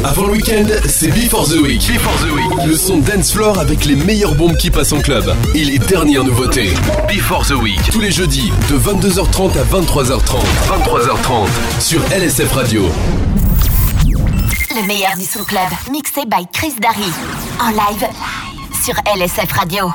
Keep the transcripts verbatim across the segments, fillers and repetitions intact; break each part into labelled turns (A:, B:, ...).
A: Avant le week-end, c'est Before the Week. Before the Week. Le son dance floor avec les meilleures bombes qui passent en club. Et les dernières nouveautés. Before the Week. Tous les jeudis, de vingt-deux heures trente à vingt-trois heures trente. vingt-trois heures trente. Sur L S F Radio.
B: Le meilleur du son club. Mixé by Chris Darry. En live. Sur L S F Radio.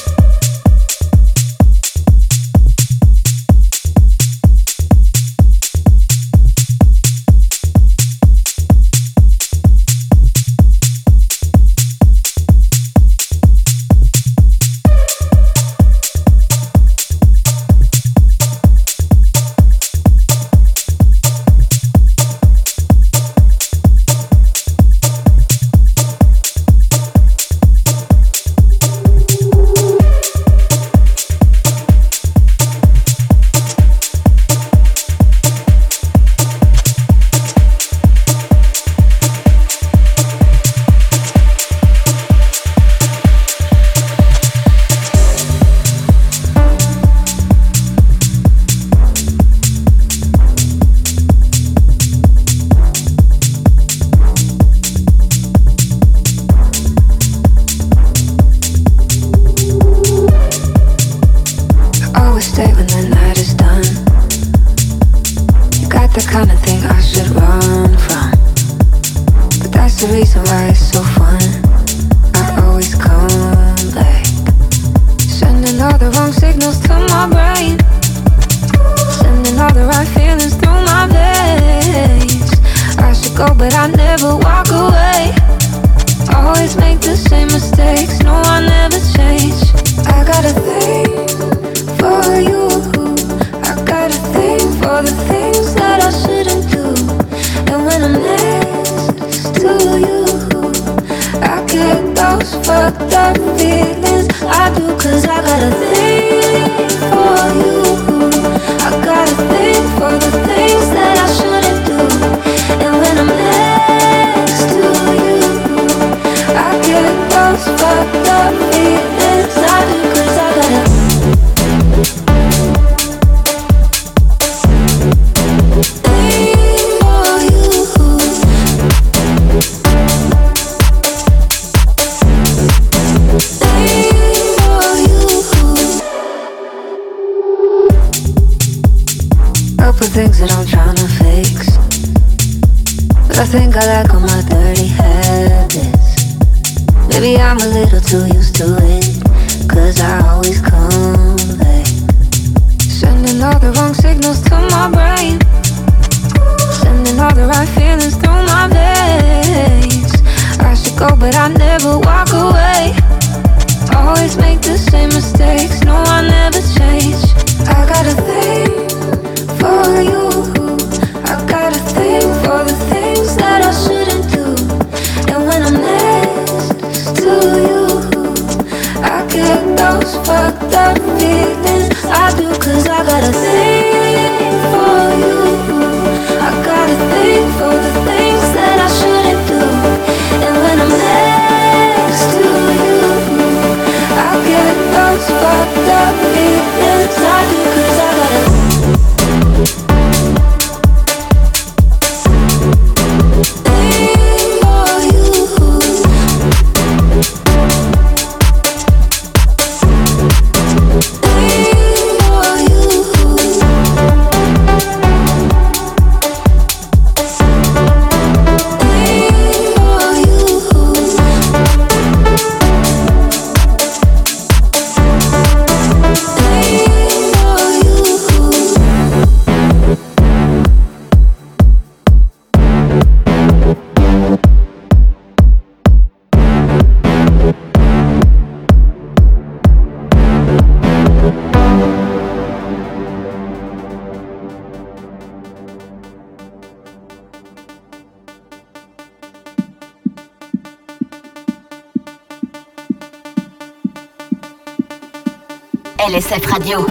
B: L S F Radio.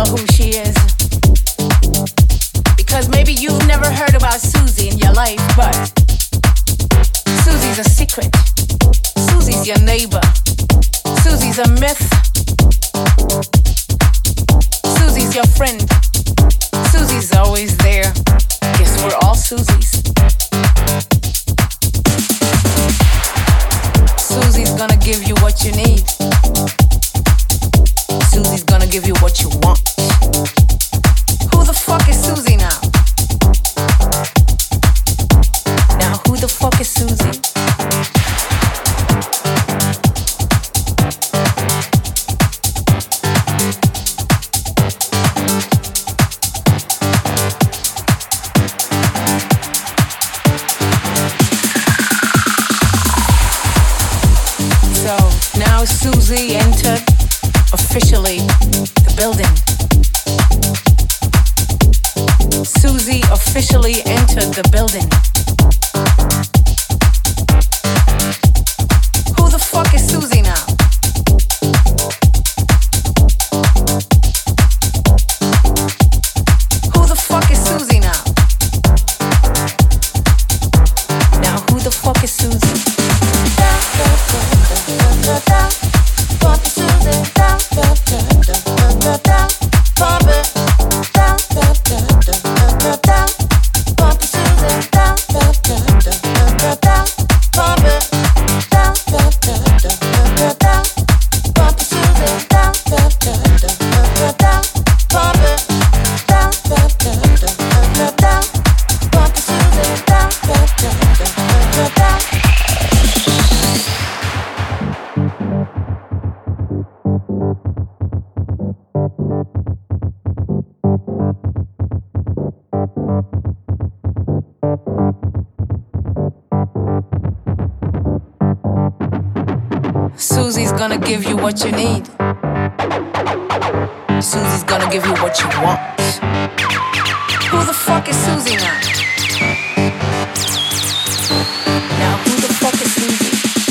C: tell who she is. Because maybe you've never heard about Susie in your life, but Susie's a secret. Susie's your neighbor. Susie's a myth. Susie's your friend. Susie's always there. Guess we're all Susies. Susie's gonna give you what you need. Susie's gonna give you what you want. Who the fuck is Susie now? Now who the fuck is Susie? Susie entered officially the building. Susie officially entered the building. Who the fuck is Susie now? Who the fuck is Susie now? Now who the fuck is Susie? Susie's gonna give you what you need. Susie's gonna give you what you want. Who the fuck is Susie now? Now who the fuck is Susie?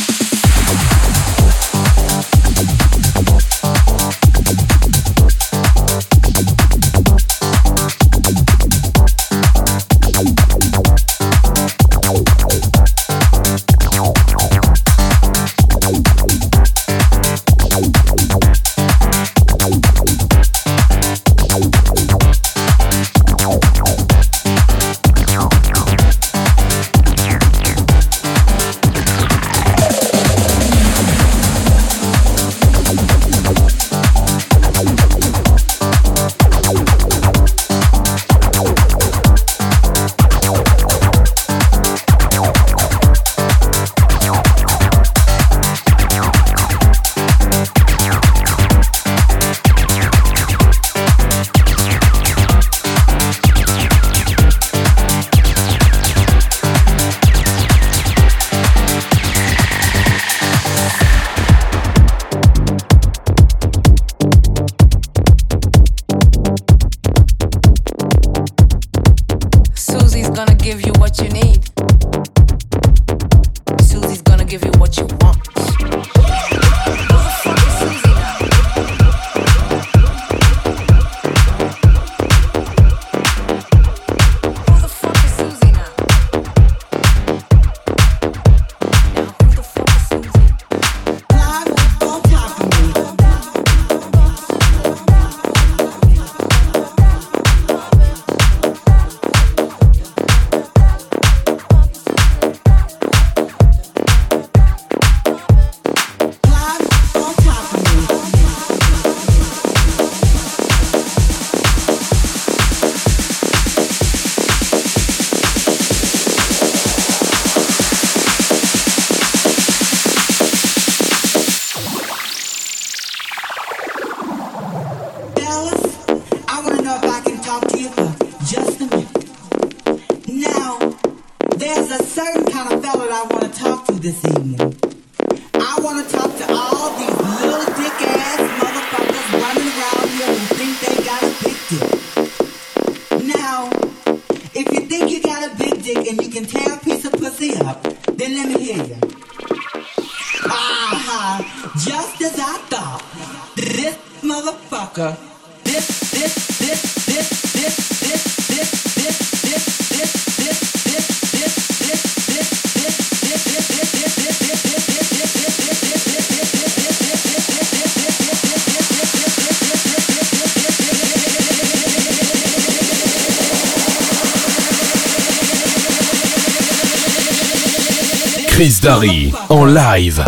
D: This evening. I want to talk to all these little dick ass motherfuckers running around here who think they got a big dick. Now, if you think you got a big dick and you can tear a piece of pussy up, then let me hear you. Aha, just as I thought. This motherfucker, this
A: Chris Darry en live.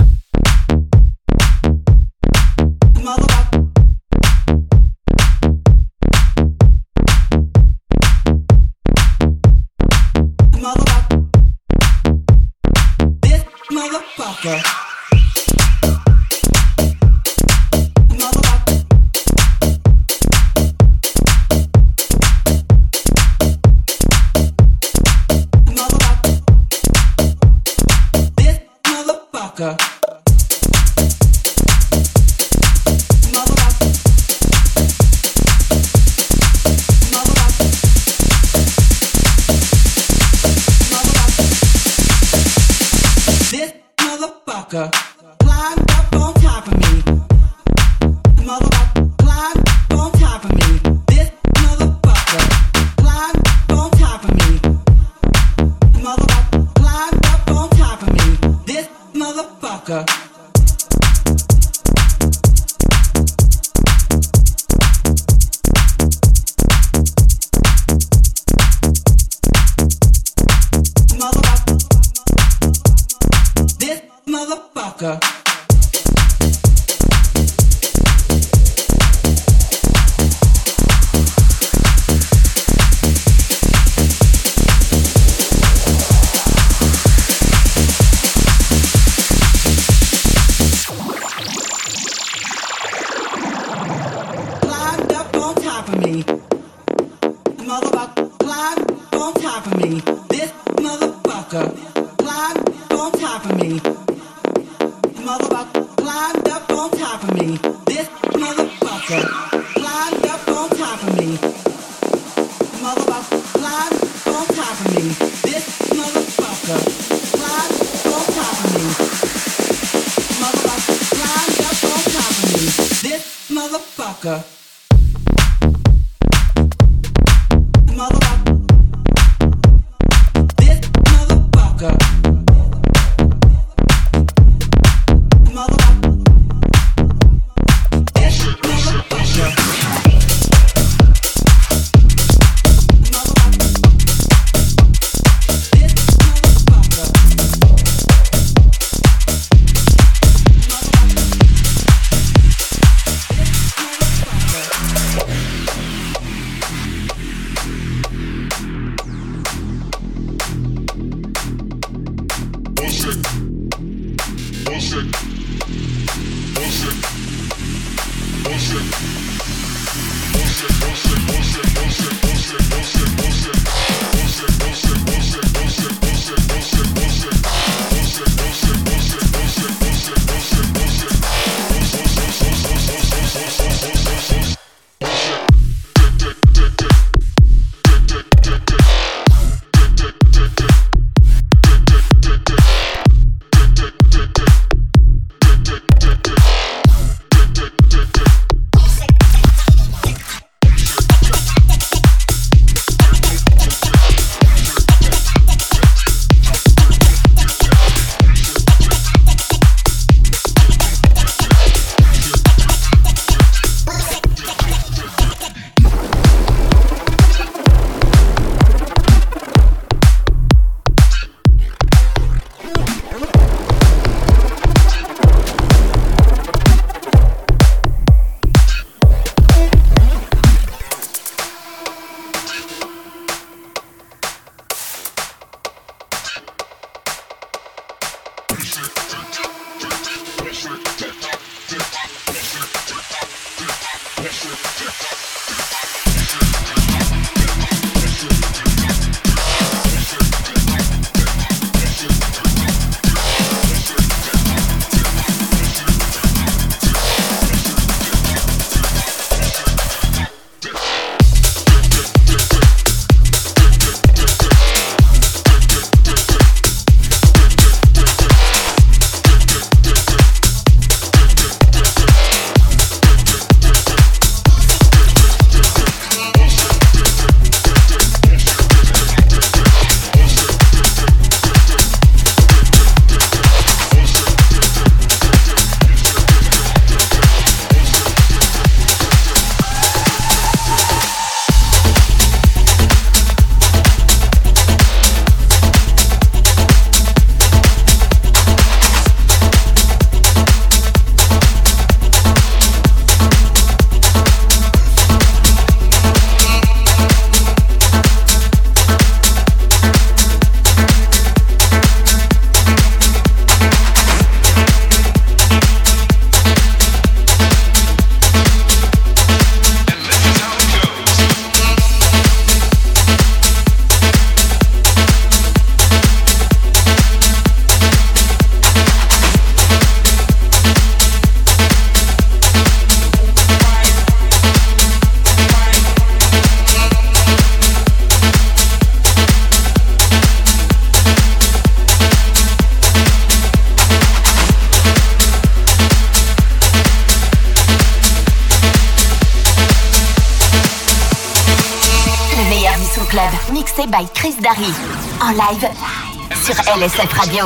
B: Club, mixé by Chris Darry. En live sur L S F Radio.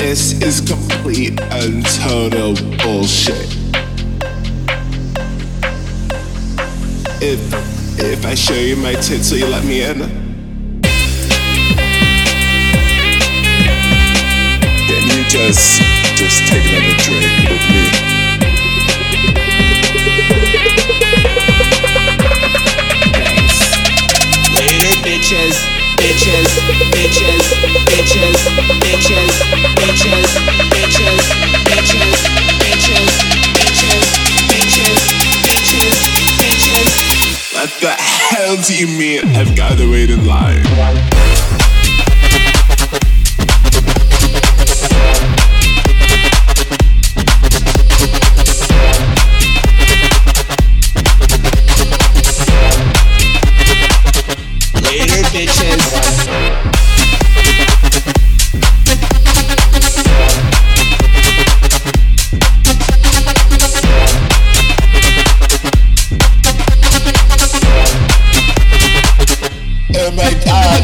E: This is complete and total bullshit. If if I show you my tits, will you let me in? Can you just just take another drink with me?
F: Later, bitches, bitches, bitches, bitches, bitches, bitches, bitches, bitches, bitches, bitches, bitches, bitches, bitches.
E: What the hell do you mean I've got to wait in line?
F: Later, bitches.
E: Oh my god.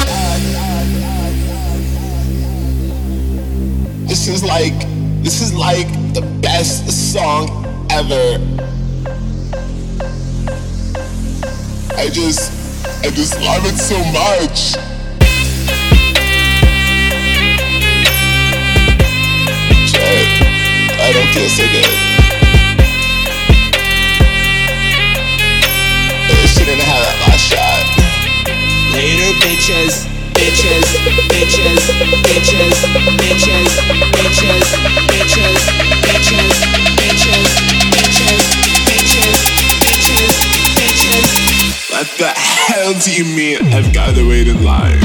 E: This is like, this is like the best song ever. I just, I just love it so much. Shit, I don't feel so good. I shouldn't have that last shot.
F: Later, bitches, bitches, bitches, bitches, bitches, bitches, bitches, bitches, bitches, bitches, bitches, bitches, bitches.
E: What the hell do you mean I've got to wait in line?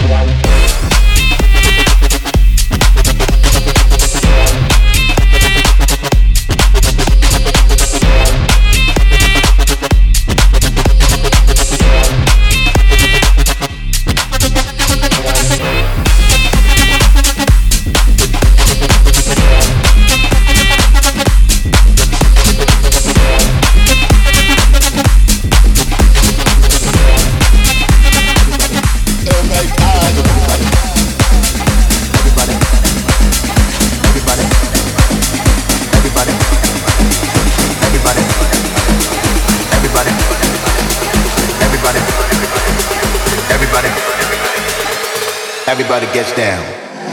G: Everybody gets down.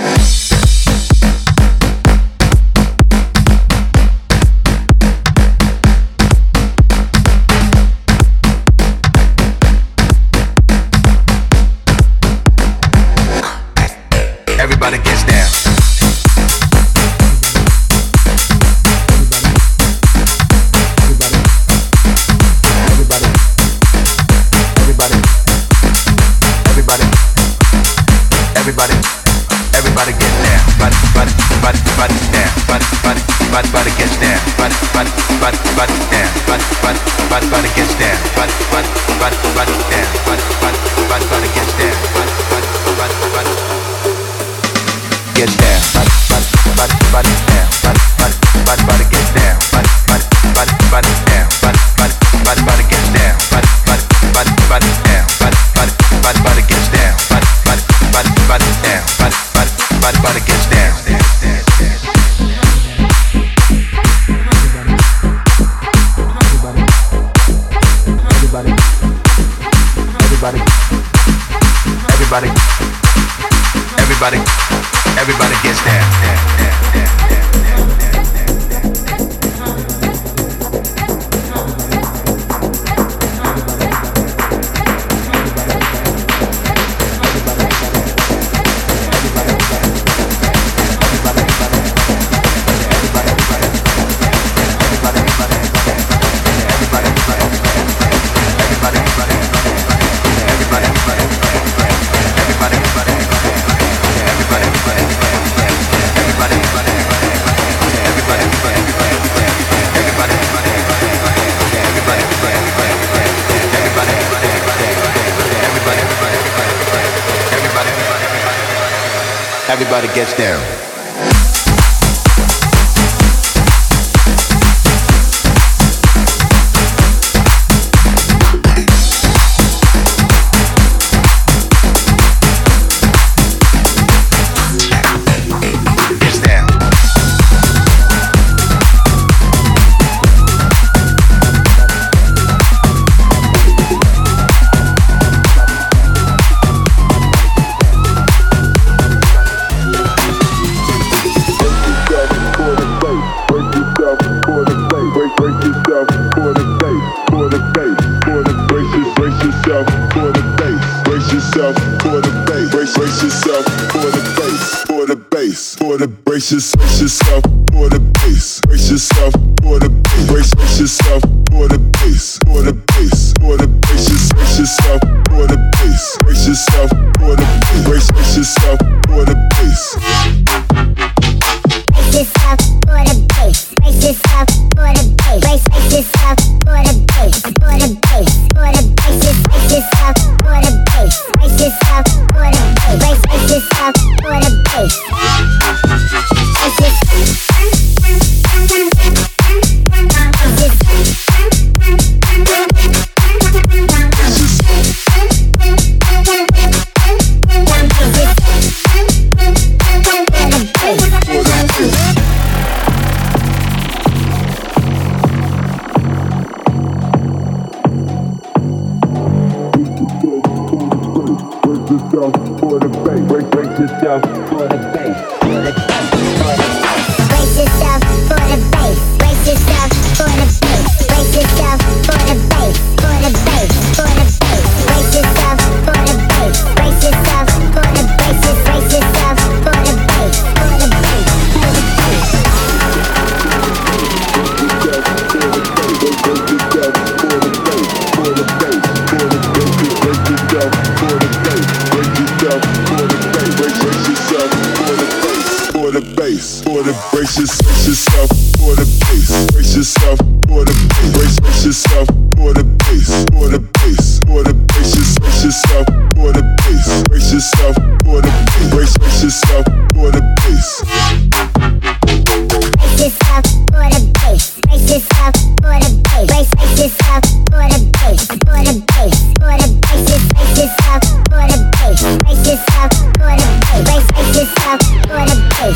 G: Everybody gets down. Everybody, everybody gets down. Body, body, body, body down. Body, body, body, body gets down. Body, body, body, body down. Body, body, body, body gets down. Body, body, body, body down. Body, body, body, body gets down. Body, body, body, body gets down. Body, body, body, body down. Body, body, body, body gets down. Body, body, body, body down. Body, body, body, body gets down. Body, body, body, body down. Body, body, body, body gets down. Body, body, body, body down. Body, body, body, body gets down. Everybody, everybody, everybody, everybody, everybody gets down. Everybody gets down. Gets down.
E: for the brace yourself for the bass. Brace yourself for the bass. Brace yourself for the bass. For the bass. For the brace yourself for the bass. Brace yourself for the bass. Brace yourself for the bass.
H: Brace yourself for the bass. Brace yourself for the bass. Brace yourself for the bass. For the bass. For the brace yourself for the bass. Brace yourself for the bass. Brace yourself for the bass.
E: For the bass, break, break yourself for the bass, for the bass, for the bass.
H: Brace yourself for the bass. Brace yourself for the bass. Brace yourself for the bass. For the bass, for the bass. Brace yourself for the bass. Brace yourself for the bass. Brace yourself for the bass. For the bass, for the bass.
E: For the bass, for the brace yourself for the bass, brace yourself for the bass, brace yourself for the bass, for the bass, for the brace yourself for the bass, brace yourself for the bass, brace yourself for the bass.
H: Brace yourself for the bass. Brace yourself for the bass. Brace yourself for the bass. For the bass. For the brace yourself for the bass. Brace yourself for the bass. Brace yourself for the bass.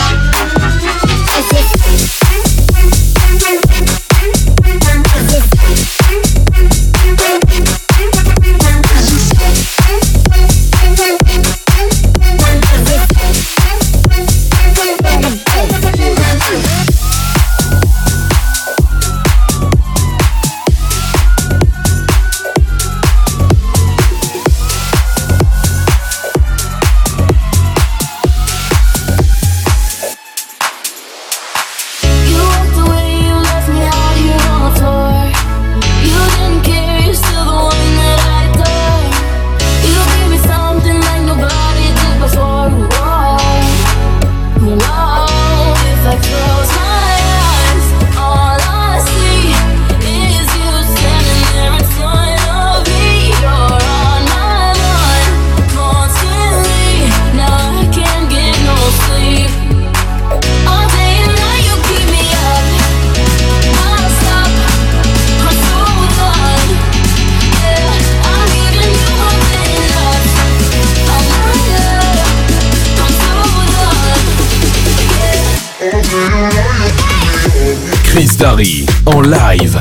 A: Chris Darry en live.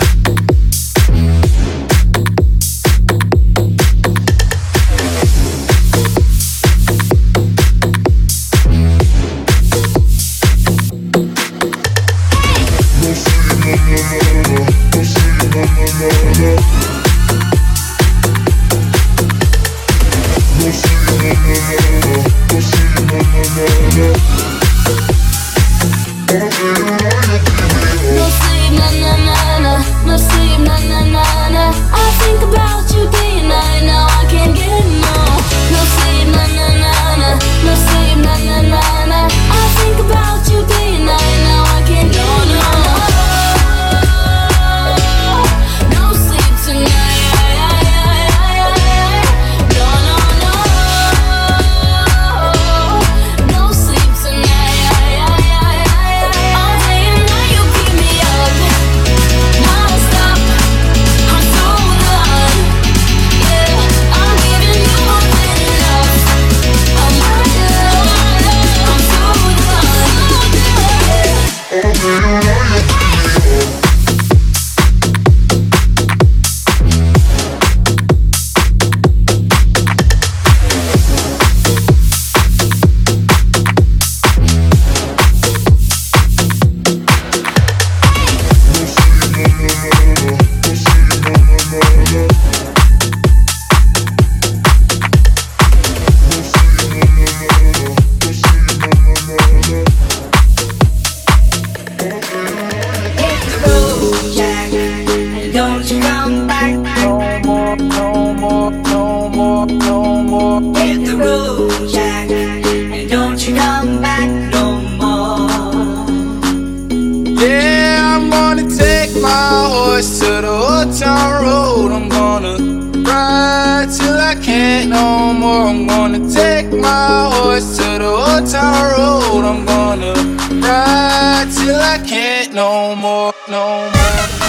I: horse to the old town road. I'm gonna ride till I can't no more. I'm gonna take my horse to the old town road. I'm gonna ride till I can't no more, no more.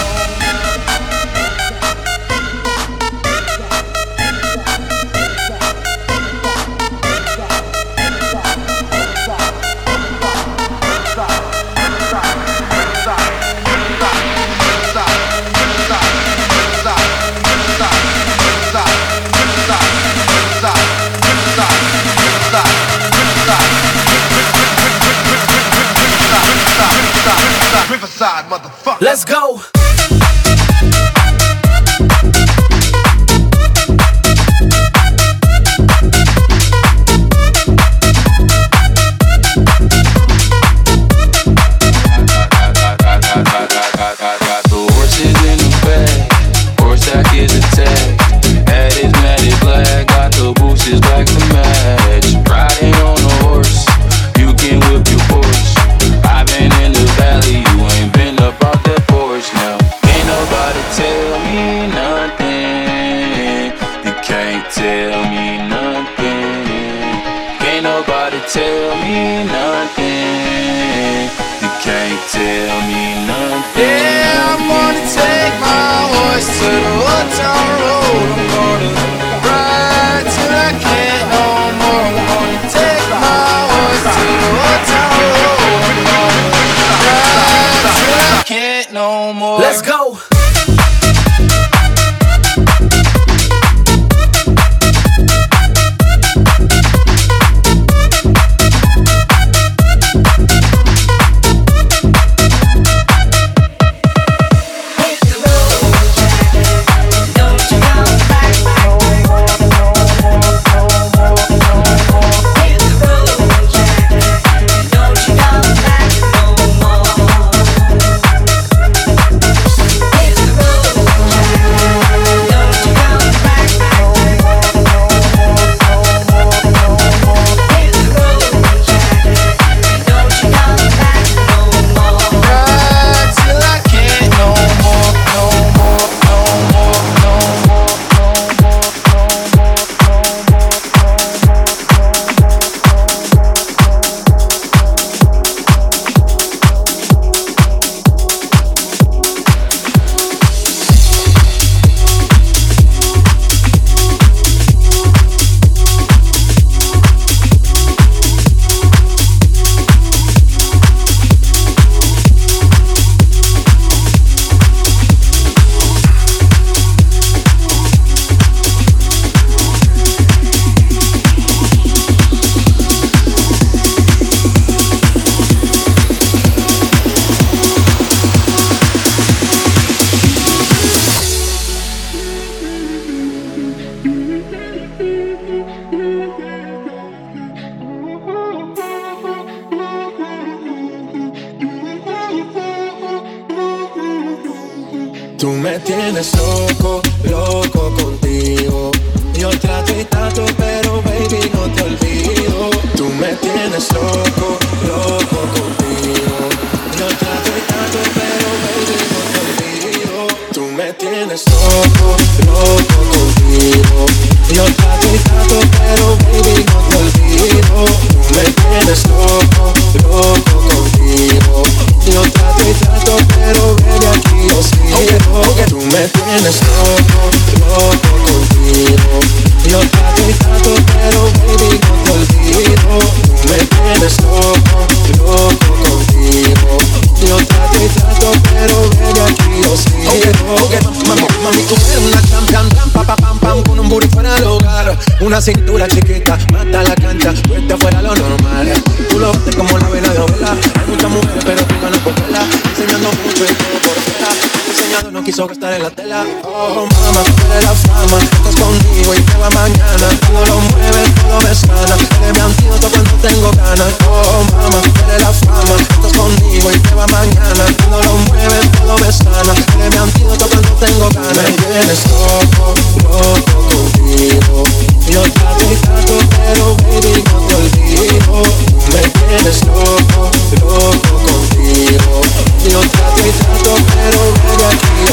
G: Riverside, motherfucker.
I: Let's go. Let's go.
J: Tú me tienes loco, loco contigo. Yo trato y trato, pero baby no te olvido. Tú me tienes loco, loco contigo. Yo trato y trato, pero baby no te olvido. Tú me tienes loco, loco contigo. Yo trato y trato, pero baby no te olvido. Tú me tienes loco, loco contigo. Yo trato y trato, pero baby aquí yo sigo. Tú me tienes loco, loco contigo. Yo trato y trato, pero baby no te olvido. Tú me tienes loco, loco contigo. Yo trato y trato, pero baby aquí yo sigo. Okay, okay. Mami, mami, tú eres una champion, pam, pam, pam, pam, con un booty fuera del hogar. Una cintura chiquita, mata la cancha, vete afuera lo normal. Tú lo ves como la vela de novela. Hay muchas mujeres, pero tú ganas por tela. Enseñando mucho y todo por fuera. Enseñando no quiso gastar en la tela. Oh, mamá, eres la fama. Estás conmigo y te va mañana. Todo lo mueves, todo me sana. Eres mi antídoto cuando tengo ganas. Oh, mamá, eres la fama. Estás conmigo y te va mañana. Todo lo mueves, todo me sana. Eres mi antídoto cuando tengo ganas. Me tienes loco, loco contigo. Yo trato y trato, pero baby no te olvido. Me tienes loco, loco contigo. Yo trato y trato, pero baby aquí yo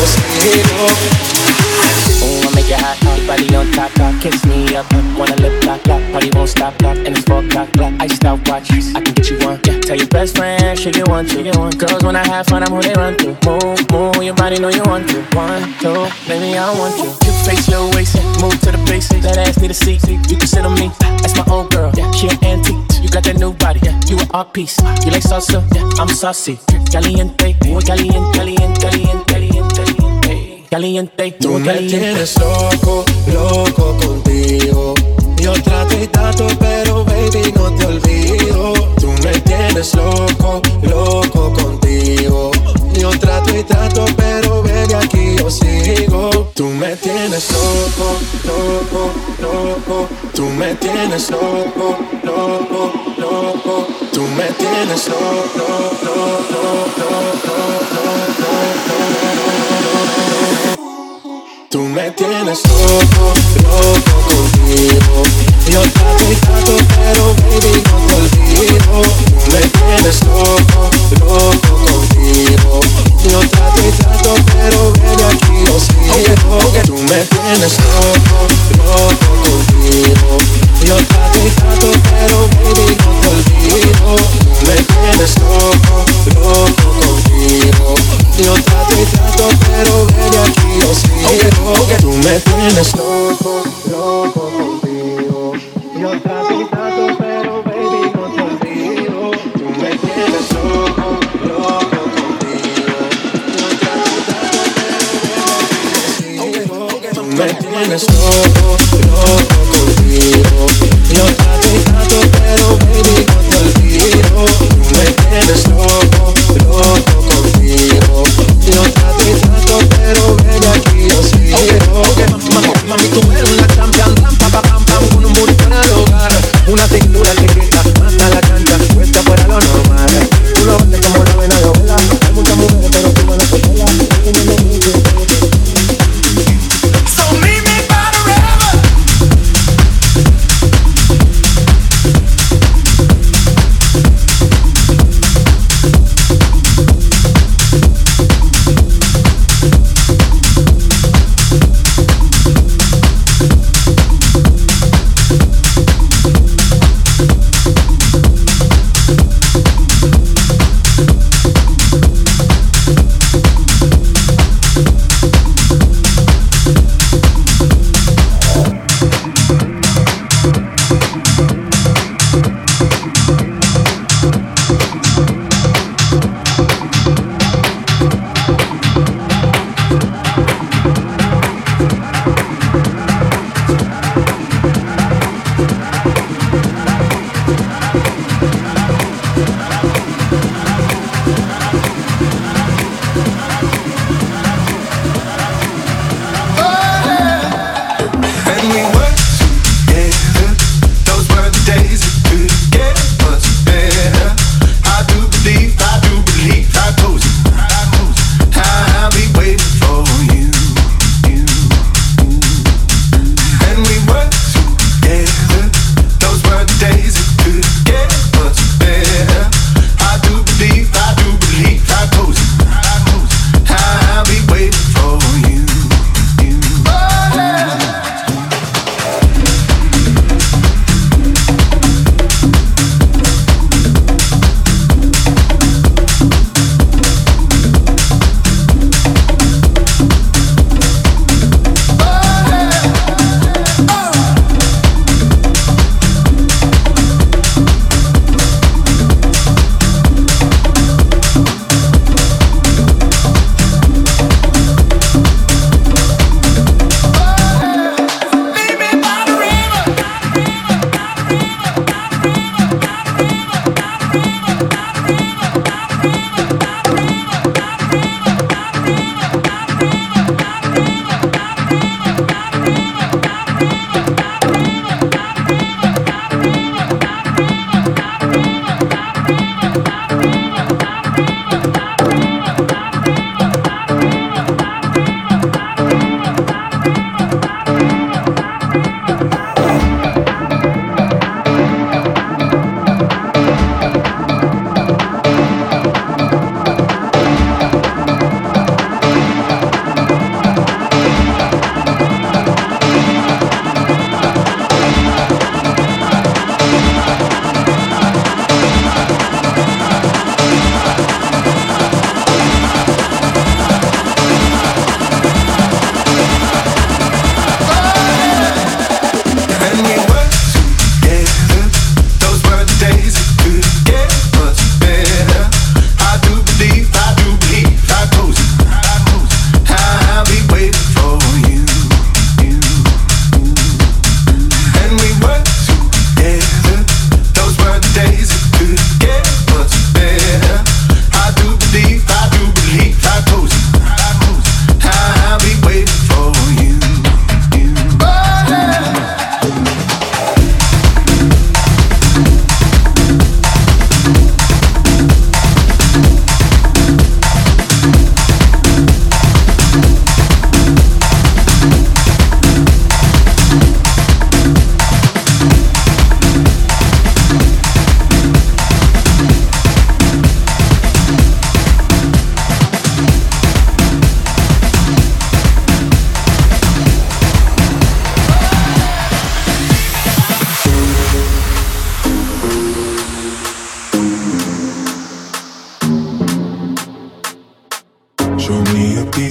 J: sigo.
F: Ooh, I make it hot, hot, body on top, top, kiss me up, up, wanna lip lock, lock, party won't stop, lock, and it's four o'clock, clock, iced out watch, I can get you one, yeah, tell your best friend, she get one, she get one, girls when I have fun, I'm who they run to, move, move, your body know you want to, one, two, baby, I don't want you, you face your waist, move to the basics, that ass need a seat, you can sit on me, that's my old girl, yeah, she an antique, you got that new body, yeah, you an art piece, you like salsa, yeah, I'm saucy, caliente, muy caliente, caliente, caliente, caliente, caliente,
J: tú me tienes loco, loco contigo. Yo trato y trato, pero baby no te olvido. Tú me tienes loco, loco contigo. Yo trato y trato, pero baby aquí yo sigo. Tú me tienes loco, loco, loco. Tú me tienes loco, loco, loco. Tú me tienes loco, loco, loco, loco, loco. Tú me tienes loco, loco contigo. Yo trato y trato, pero baby no te olvido. Tú me tienes loco, loco contigo. Yo trato y trato, pero baby aquí yo sigo. Tú me tienes loco, loco contigo. Yo trato y trato, pero baby no te olvido. Tú me tienes loco, loco contigo. Yo trato y trato, pero baby aquí yo sigo. Tú me tienes loco, loco contigo. Yo trato y trato, pero baby no te olvido. Tú me tienes loco, loco contigo. Yo trato y trato, pero baby aquí yo sigo. Tú me tienes loco, loco contigo. Yo trato y trato, pero baby no te olvido. Tú me tienes loco, loco contigo. Yo trato y trato, pero baby aquí yo sigo. Mami, tú eres una champion, pam, pam, pam, pam, con un booty fuera de hogar. Una cintura que grita, mata la cancha, cuesta fuera lo normal. Tú lo bates como la vena de ovela. Hay muchas mujeres, pero tú no las pelas. So meet me by the river.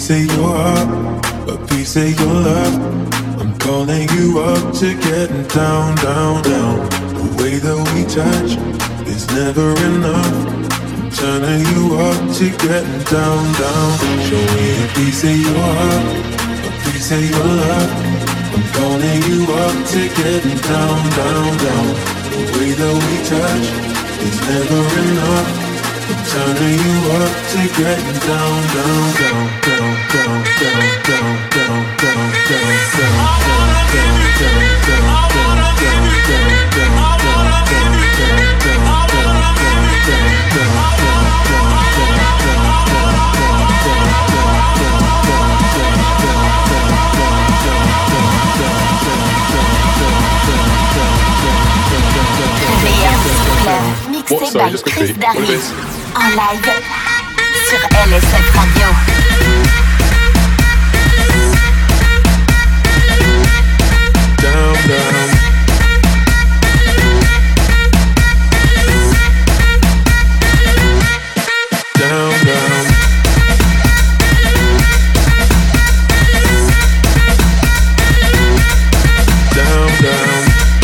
J: piece of your heart, a piece of your love. I'm calling you up to getting down, down, down. The way that we touch is never enough. I'm turning you up to getting down, down. Show me a piece of your heart, a piece of your love. I'm calling you up to getting down, down, down. The way that we touch is never enough. I'm turning you up to getting down, down, down, down, down, down, down, down, down, down, down,
B: Mixé by Chris Darry en live sur L S F Radio.
J: Down, down. Down, down. Down, down.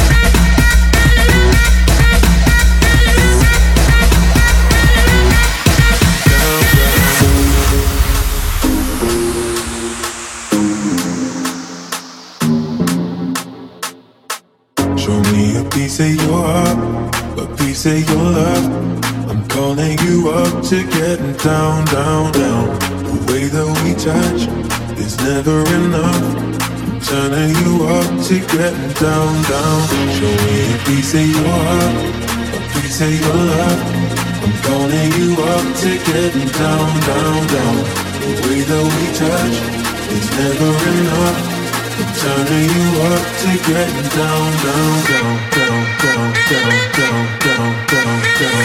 J: Piece of your heart, a piece of your love. I'm calling you up to getting down, down, down. The way that we touch is never enough. I'm turning you up to getting down, down. Show me a piece of your heart, a piece of your love. I'm calling you up to getting down, down, down. The way that we touch is never enough. I'm turning you up to getting down, down, down, down, down, down, down, down, down, down,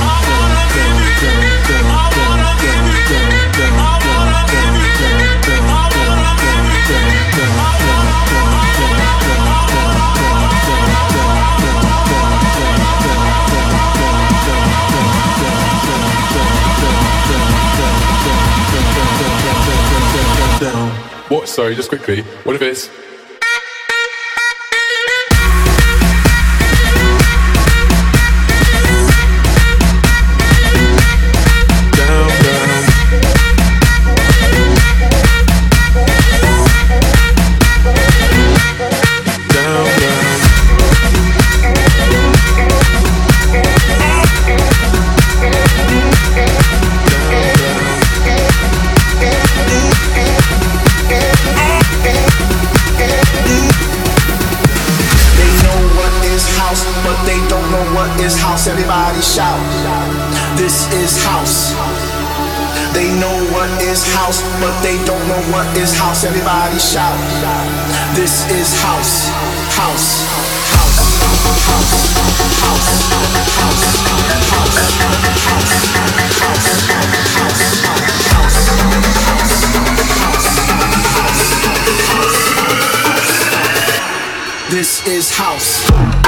J: down.
K: What? Sorry, just quickly. What if it's...
L: Everybody shout, this is house. They know what is house, but they don't know what is house. Everybody shout, this is house. House, house, house, house, house, house, house, this is house.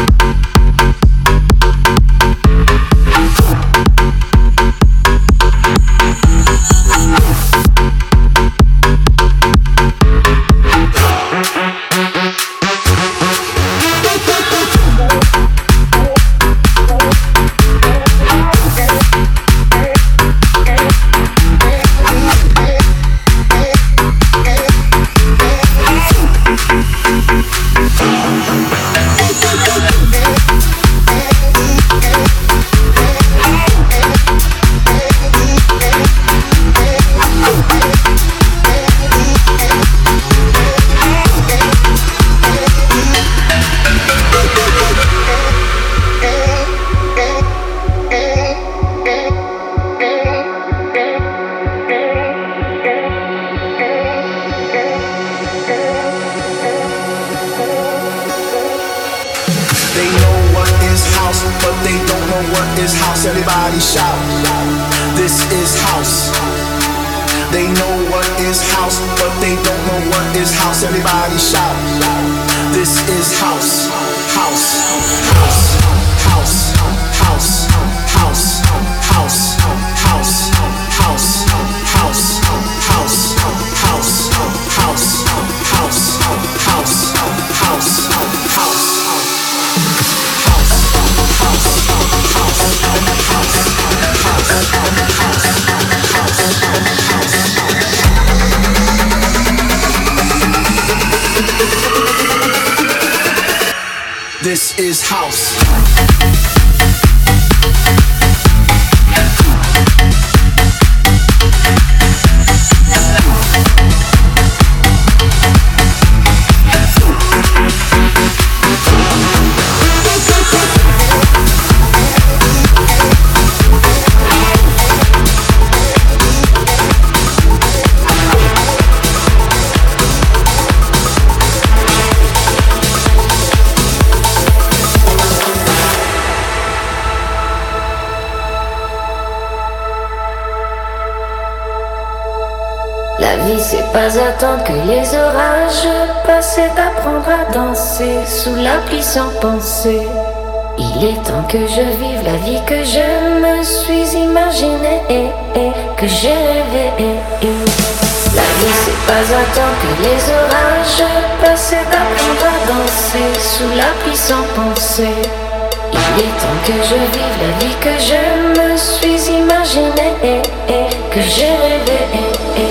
L: Everybody shout, this is house. They know what is house, but they don't know what is house. Everybody shout, this is house. House, house, house, house, house, house, house, house, house, house, house. This is house.
M: C'est pas attendre que les orages passent et d'apprendre à danser sous la pluie sans penser. Il est temps que je vive la vie que je me suis imaginée et, et que j'ai rêvé. La vie c'est pas attendre que les orages passent et d'apprendre à danser sous la pluie sans penser. Il est temps que je vive la vie que je me suis imaginée et, et que j'ai rêvé.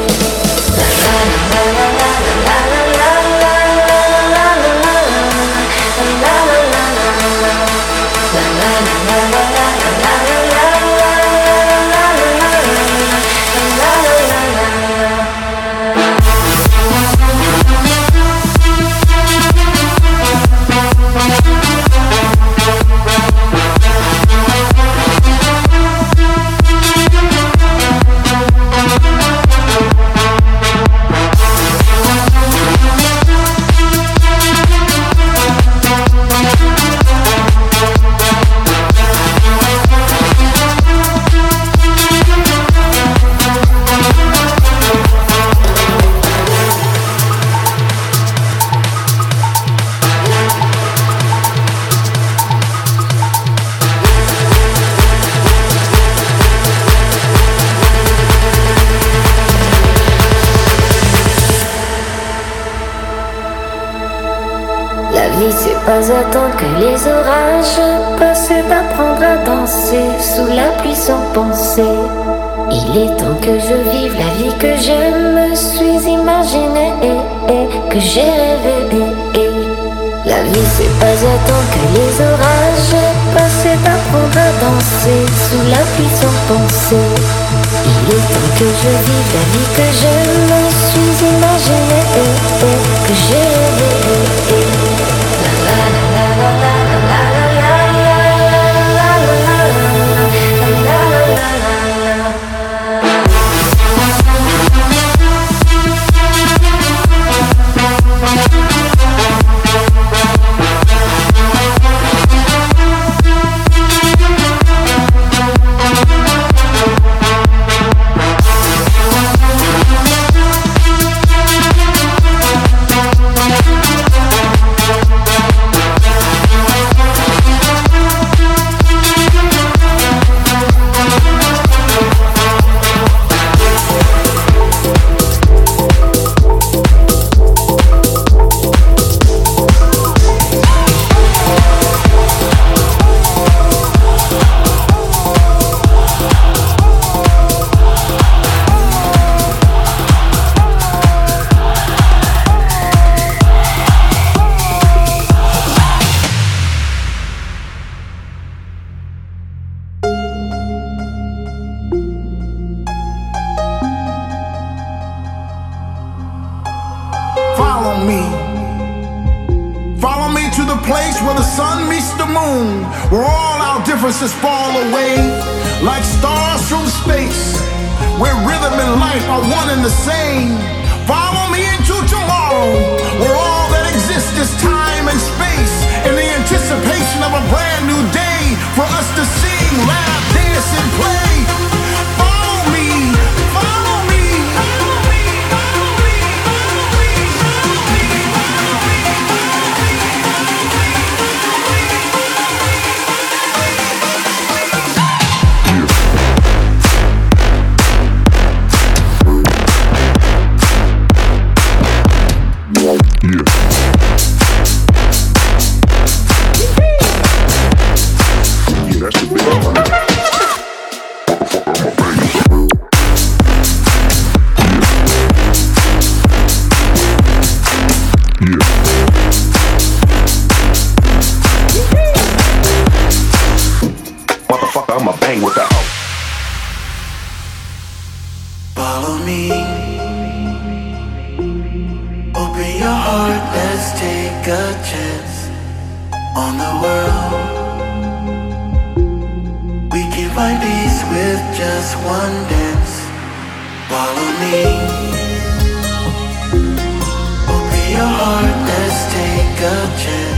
M: Pas attendre que les orages passent et d'apprendre à danser sous la pluie sans penser. Il est temps que je vive la vie que je me suis imaginée et, et que j'ai rêvé. La vie c'est pas attendre que les orages passent et d'apprendre à danser sous la pluie sans penser. Il est temps que je vive la vie que je me suis imaginée et, et que j'ai rêvé.
N: Differences fall away like stars from space, where rhythm and life are one and the same. Follow me into tomorrow, where all that exists is time and space, in the anticipation of a brand new day for us to sing, laugh, dance, and play. Follow me, follow me, follow me, follow me, follow me, follow me, follow me, follow me, follow me.
E: Yeah.
O: Follow me. Open your heart, let's take a chance on the world. We can find peace with just one dance. Follow me. Open your heart, let's take a chance.